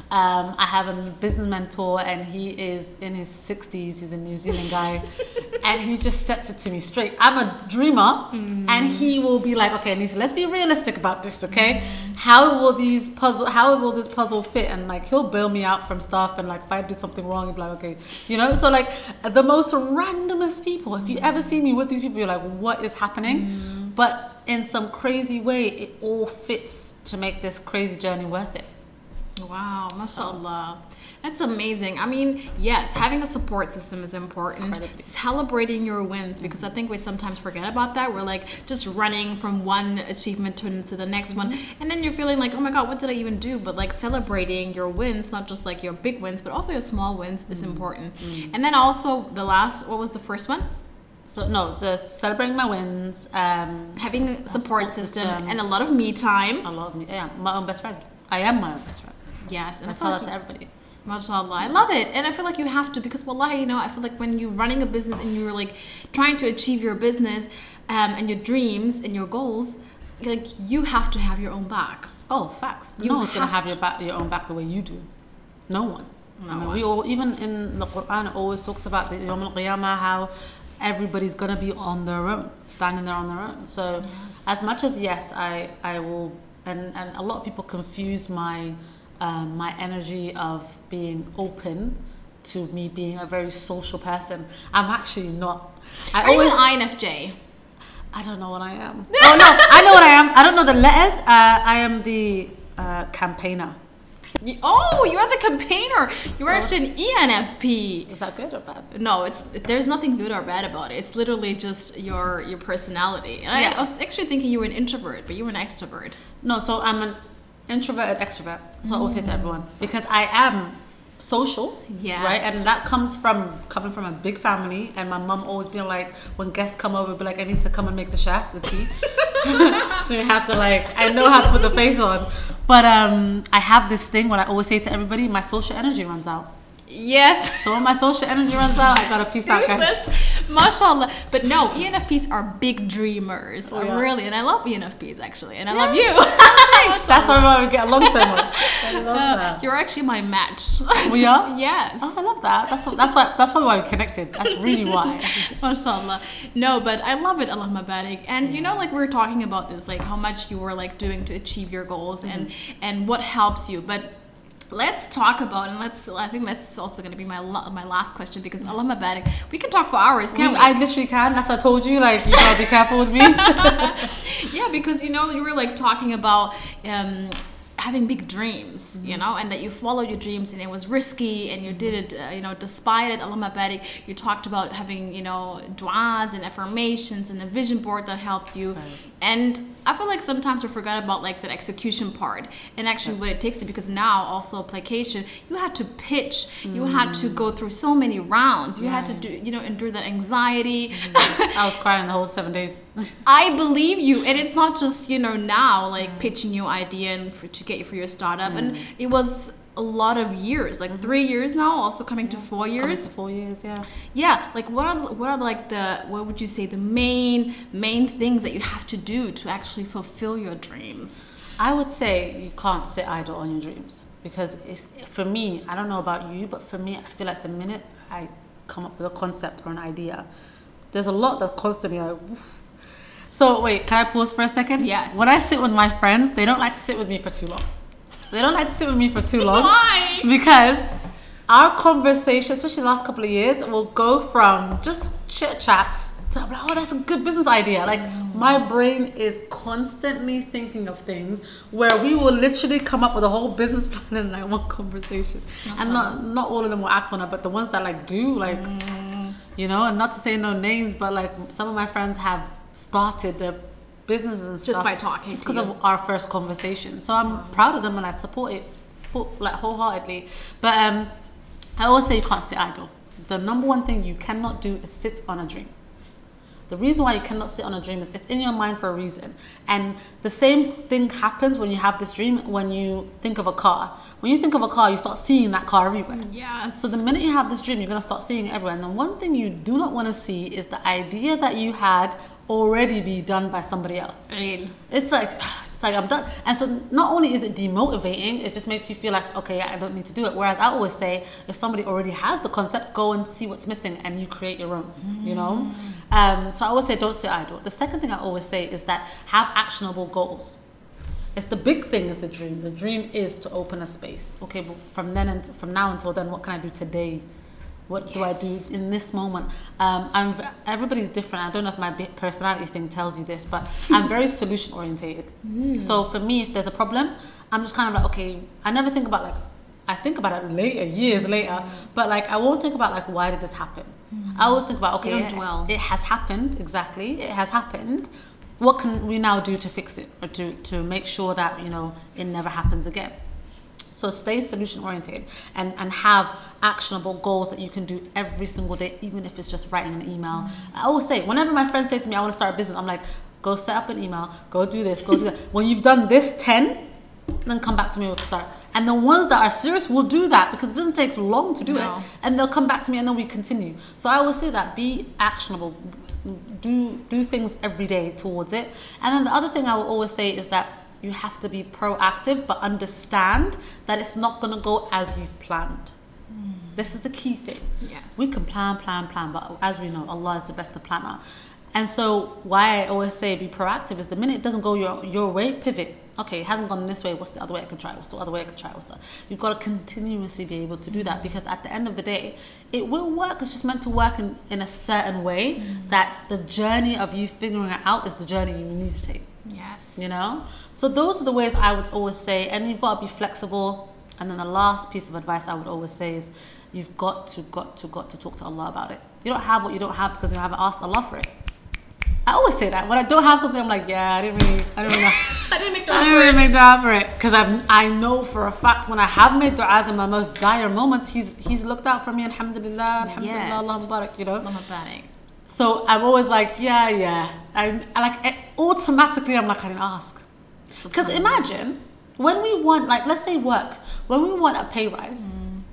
I have a business mentor and he is in his 60s. He's a New Zealand guy and he just sets it to me straight. I'm a dreamer and he will be like, okay, Anissa, let's be realistic about this, okay? How will this puzzle fit? And like he'll bail me out from stuff, and like if I did something wrong, he'll be like, okay, you know? So like the most randomest people, if you ever see me with these people, you're like, what is happening? But in some crazy way, it all fits to make this crazy journey worth it. Wow, mashallah. That's amazing. I mean, yes, having a support system is important. Incredibly. Celebrating your wins, because I think we sometimes forget about that. We're like just running from one achievement to the next one. And then you're feeling like, oh my God, what did I even do? But like celebrating your wins, not just like your big wins, but also your small wins is important. And then also what was the first one? So no, the celebrating my wins, having a support system and a lot of me time. Yeah, my own best friend. I am my own best friend. Yes, and I tell that to everybody. MashaAllah, I love it. And I feel like you have to, because wallahi, you know, I feel like when you're running a business and you're like trying to achieve your business and your dreams and your goals, like you have to have your own back. Oh, facts. No one's going to have your own back the way you do. No one. I mean, we all, even in the Quran, it always talks about the Yawm al-Qiyamah, how everybody's going to be on their own, standing there on their own. So as much as, yes, I will, and a lot of people confuse my energy of being open to me being a very social person. I'm actually not. Are you an INFJ? I don't know what I am. Oh no, I know what I am. I don't know the letters. I am the campaigner. Oh, you're the campaigner. You're actually an ENFP. Is that good or bad? No, there's nothing good or bad about it. It's literally just your personality. And I was actually thinking you were an introvert, but you were an extrovert. No, so I'm an introverted extrovert. So I always say to everyone, because I am social, right? And that comes from coming from a big family, and my mum always being like, when guests come over, be like, I need to come and make the tea. So you have to I know how to put the face on. But I have this thing what I always say to everybody, my social energy runs out. Yes. So when my social energy runs out, I gotta peace out, guys. MashaAllah. But no, ENFPs are big dreamers. Really. And I love ENFPs actually. And I love you. That's why we get along so much. I love that. You're actually my match. We are? Yes. Oh, I love that. That's probably why we connected. That's really why. MashaAllah. No, but I love it, Allah Mabarak. And you know, we were talking about this, how much you were doing to achieve your goals and what helps you. But let's talk about, and I think that's also going to be my last question, because Allah Mabarak, we can talk for hours, can't we? I literally can. That's what I told you. You gotta be careful with me. Yeah, because you were talking about having big dreams, and that you followed your dreams and it was risky and you did it, despite it. Allah Mabarak, you talked about having, du'as and affirmations and a vision board that helped you. Right. And I feel like sometimes we forget about that execution part and actually what it takes to, because now also application, you had to pitch, you had to go through so many rounds, you had to do, endure that anxiety. I was crying the whole 7 days. I believe you. And it's not just, now pitching your idea and to get you for your startup. And it was a lot of years, 3 years now, also coming to 4 years. Coming to 4 years, yeah. Yeah, what would you say the main things that you have to do to actually fulfill your dreams? I would say you can't sit idle on your dreams, because for me, I don't know about you, but for me, I feel like the minute I come up with a concept or an idea, there's a lot that constantly woof. So wait, can I pause for a second? Yes. When I sit with my friends, they don't like to sit with me for too long. Why? Because our conversation, especially the last couple of years, will go from just chit chat to I'm like, oh, that's a good business idea. My brain is constantly thinking of things where we will literally come up with a whole business plan in one conversation. And not all of them will act on it, but the ones that do, and not to say no names, but some of my friends have started their businesses and stuff just by talking, just because of our first conversation. So I'm proud of them and I support it wholeheartedly. But I always say you can't sit idle. The number one thing you cannot do is sit on a dream. The reason why you cannot sit on a dream is it's in your mind for a reason. And the same thing happens when you have this dream, when you think of a car. When you think of a car, you start seeing that car everywhere. Yes. So the minute you have this dream, you're going to start seeing it everywhere. And the one thing you do not want to see is the idea that you had already be done by somebody else. Really? It's like I'm done. And so not only is it demotivating, it just makes you feel like, okay, I don't need to do it. Whereas I always say, if somebody already has the concept, go and see what's missing and you create your own, So I always say, don't sit idle. The second thing I always say is that have actionable goals. It's the big thing is the dream. The dream is to open a space. Okay, but from now until then, what can I do today? What do I do in this moment? Everybody's different. I don't know if my personality thing tells you this, but I'm very solution orientated. So for me, if there's a problem, I'm just kind of like, okay, I never think about I think about it later, years later, but I won't think about why did this happen? I always think about, okay, it has happened, exactly, it has happened. What can we now do to fix it or to make sure that, it never happens again? So stay solution oriented and have actionable goals that you can do every single day, even if it's just writing an email. I always say, whenever my friends say to me, I want to start a business, I'm like, go set up an email, go do this, go do that. When you've done this 10, then come back to me, we'll start. And the ones that are serious will do that because it doesn't take long to do it. And they'll come back to me and then we continue. So I always say that, be actionable, do things every day towards it. And then the other thing I will always say is that you have to be proactive, but understand that it's not going to go as you've planned. This is the key thing. Yes. We can plan, but as we know, Allah is the best planner. And so why I always say be proactive is the minute it doesn't go your way, pivot. okay, it hasn't gone this way, what's the other way I can try? What's the other way I can try? You've got to continuously be able to do that, because at the end of the day, it will work. It's just meant to work in a certain way that the journey of you figuring it out is the journey you need to take. Yes. You know? So those are the ways I would always say, and you've got to be flexible. And then the last piece of advice I would always say is you've got to talk to Allah about it. You don't have what you don't have because you haven't asked Allah for it. I always say that. When I don't have something, I'm like, yeah, I didn't really know. I didn't make dua for it. Because I know for a fact when I have made du'as in my most dire moments, he's looked out for me, alhamdulillah, Allahumma barak, you know. Allahumma barak. So I'm always like, yeah. I like, automatically I'm like, I didn't ask. Because imagine, when we want, like, let's say work, when we want a pay rise,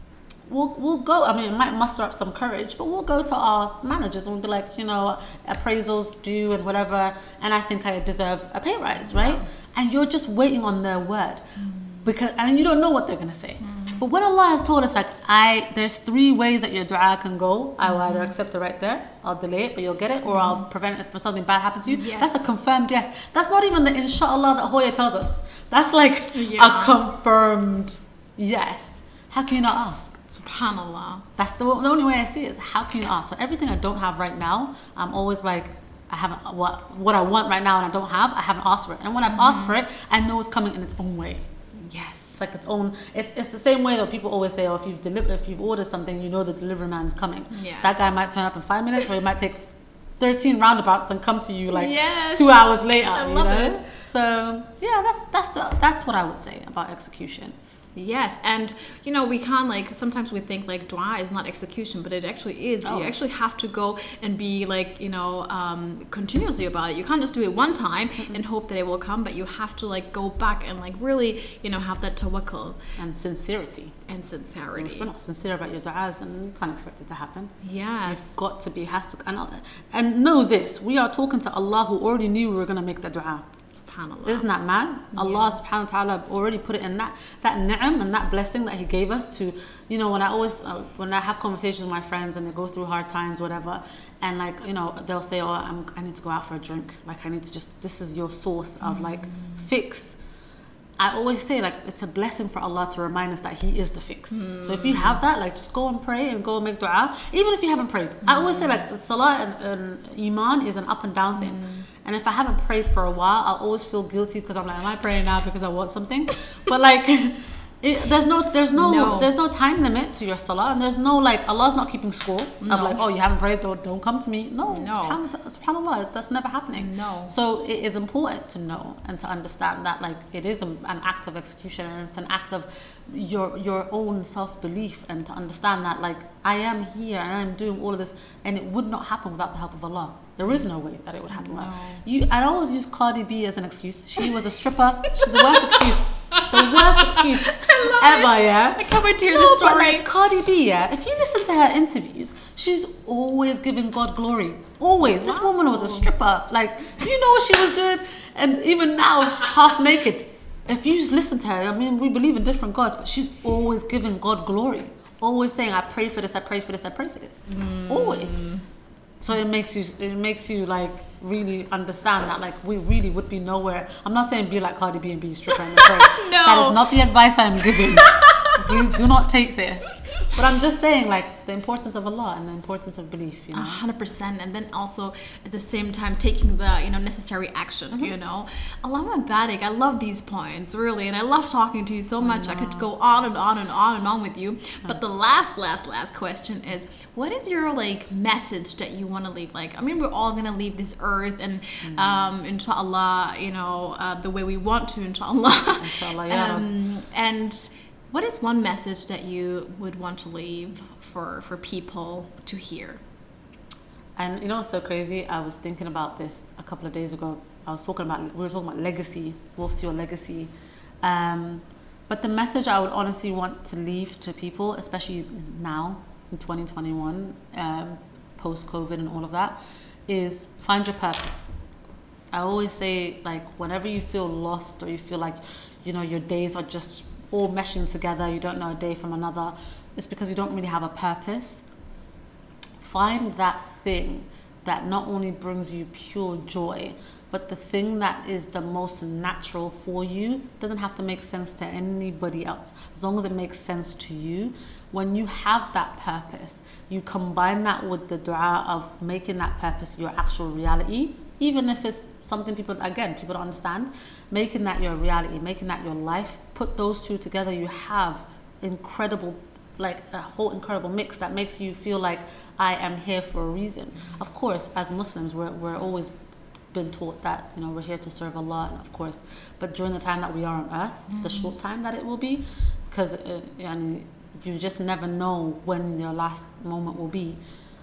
we'll go, I mean, it might muster up some courage, but we'll go to our managers and we'll be like, you know, appraisals due and whatever, and I think I deserve a pay rise, right? Yeah. And you're just waiting on their word, and you don't know what they're going to say. But when Allah has told us, like, there's 3 ways that your dua can go. I will either accept it right there, I'll delay it, but you'll get it, or I'll prevent it if something bad happens to you. Yes. That's a confirmed yes. That's not even the inshallah that Hoya tells us. That's like a confirmed yes. How can you not ask? SubhanAllah. That's the only way I see it, is how can you not ask? So everything I don't have right now, I'm always like, I haven't, what I want right now and I don't have, I haven't asked for it. And when I've asked for it, I know it's coming in its own way. Yes. It's like its own, it's the same way that people always say, oh, if you've ordered something, you know the delivery man is coming. Yes. That guy might turn up in 5 minutes, or he might take 13 roundabouts and come to you like 2 hours later. I love it. So yeah, that's what I would say about execution. Yes, and you know, we can't, like, sometimes we think like dua is not execution, but it actually is. You actually have to go and be like, you know, continuously about it. You can't just do it one time and hope that it will come, but you have to like go back and like really, you know, have that tawakkul and sincerity. If you're not sincere about your du'as, and you can't expect it to happen. Yeah, you've got to be, and know this: we are talking to Allah who already knew we were going to make the du'a. Isn't that mad? Allah subhanahu wa ta'ala already put it in that ni'am and that blessing that He gave us to, you know, when I have conversations with my friends and they go through hard times, whatever, and like, you know, they'll say, oh, I need to go out for a drink, like I need to this is your source of like fix. I always say, like, it's a blessing for Allah to remind us that He is the fix. So if you have that, like, just go and pray and go and make dua, even if you haven't prayed. I always say, like, the salah and iman is an up and down thing. And if I haven't prayed for a while, I'll always feel guilty because I'm like, am I praying now because I want something? But like, there's no time limit to your salah, and there's no, like, Allah's not keeping score of like, oh, you haven't prayed, don't come to me. No. Subhanallah, that's never happening. No. So it is important to know and to understand that, like, it is an act of execution, and it's an act of your own self-belief, and to understand that, like, I am here and I'm doing all of this, and it would not happen without the help of Allah. There is no way that it would happen. No. I always use Cardi B as an excuse. She was a stripper. She's the worst excuse. The worst excuse ever, yeah? I can't wait to hear the story. But like Cardi B, yeah, if you listen to her interviews, she's always giving God glory. Always. Wow. This woman was a stripper. Like, do you know what she was doing? And even now, she's half naked. If you listen to her, I mean, we believe in different gods, but she's always giving God glory. Always saying, I pray for this, I pray for this, I pray for this. Always. So it makes you like really understand that, like, we really would be nowhere. I'm not saying be like Cardi B and be a stripper and pray. No. That is not the advice I'm giving. Please do not take this. But I'm just saying, like, the importance of Allah and the importance of belief, you know. 100%, and then also at the same time taking the, you know, necessary action. You know, Allahumma barik. I love these points, really, and I love talking to you so much. I could go on and on and on and on with you. But the last question is, what is your, like, message that you want to leave? Like, I mean, we're all gonna leave this earth, and inshallah, you know, the way we want to, inshallah. Inshallah, yeah. And what is one message that you would want to leave for people to hear? And you know what's so crazy? I was thinking about this a couple of days ago. We were talking about legacy. What's your legacy? But the message I would honestly want to leave to people, especially now in 2021, post-COVID and all of that, is find your purpose. I always say, like, whenever you feel lost or you feel like, you know, your days are just all meshing together, you don't know a day from another, it's because you don't really have a purpose. Find that thing that not only brings you pure joy, but the thing that is the most natural for you doesn't have to make sense to anybody else. As long as it makes sense to you, when you have that purpose, you combine that with the dua of making that purpose your actual reality, even if it's something people don't understand, making that your reality, making that your life, put those two together, you have incredible, like a whole incredible mix that makes you feel like I am here for a reason. Of course, as Muslims, we're always been taught that, you know, we're here to serve Allah, and of course, but during the time that we are on earth, the short time that it will be, because you just never know when your last moment will be.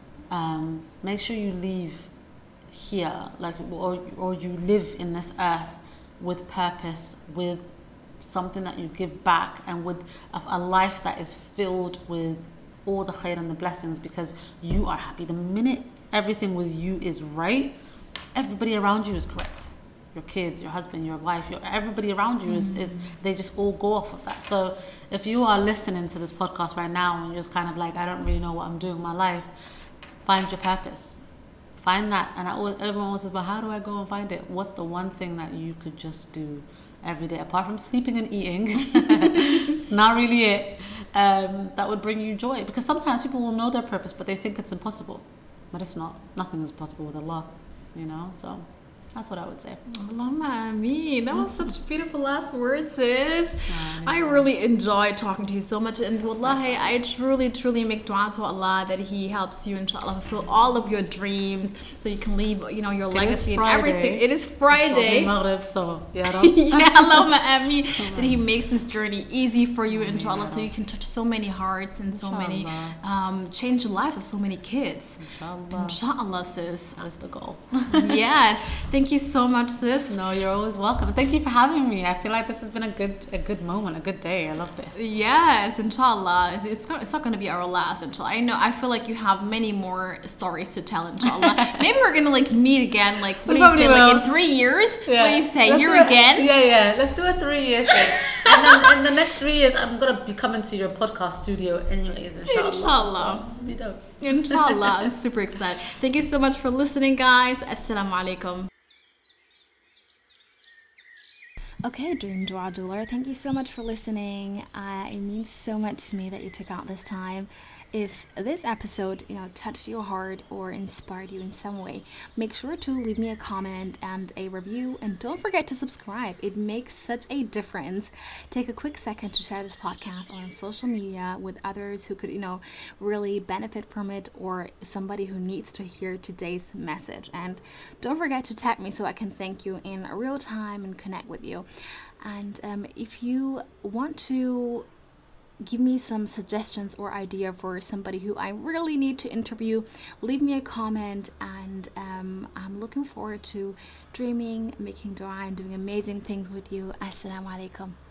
Make sure you leave here, like, or you live in this earth with purpose, with something that you give back, and with a life that is filled with all the khair and the blessings, because you are happy. The minute everything with you is right, everybody around you is correct. Your kids, your husband, your wife, everybody around you is they just all go off of that. So if you are listening to this podcast right now and you're just kind of like, I don't really know what I'm doing in my life, find your purpose. Find that. And everyone always says, but how do I go and find it? What's the one thing that you could just do every day, apart from sleeping and eating? It's not really it. That would bring you joy. Because sometimes people will know their purpose, but they think it's impossible. But it's not. Nothing is possible with Allah, you know? So that's what I would say. Allahumma ameen. That was such beautiful last words, sis. I really enjoyed talking to you so much. And wallahi, I truly make dua to Allah that He helps you, inshallah, fulfill all of your dreams so you can leave, you know, your legacy and everything. It is Friday. Maghrib, so yeah, Allahumma ameen. That He makes this journey easy for you, inshallah, so you can touch so many hearts and so many, change the lives of so many kids. Inshallah, sis. That's the goal. Yes. Thank you so much, sis. No, you're always welcome. Thank you for having me. I feel like this has been a good moment, a good day. I love this. Yes, inshallah. It's not going to be our last, inshallah. I feel like you have many more stories to tell, inshallah. Maybe we're going to like meet again, like, what do you say, like in 3 years? Yeah. What do you say, again? Yeah. Let's do a 3-year thing. And then in the next 3 years, I'm going to be coming to your podcast studio anyways, inshallah. Inshallah. So, be dope. Inshallah. I'm super excited. Thank you so much for listening, guys. Assalamu alaikum. Okay, Dream Dua Doula, thank you so much for listening. It means so much to me that you took out this time. If this episode, touched your heart or inspired you in some way, make sure to leave me a comment and a review, and don't forget to subscribe. It makes such a difference. Take a quick second to share this podcast on social media with others who could, really benefit from it, or somebody who needs to hear today's message. And don't forget to tag me so I can thank you in real time and connect with you. And if you want to give me some suggestions or idea for somebody who I really need to interview, leave me a comment, and I'm looking forward to dreaming, making dua, and doing amazing things with you. Assalamu alaikum.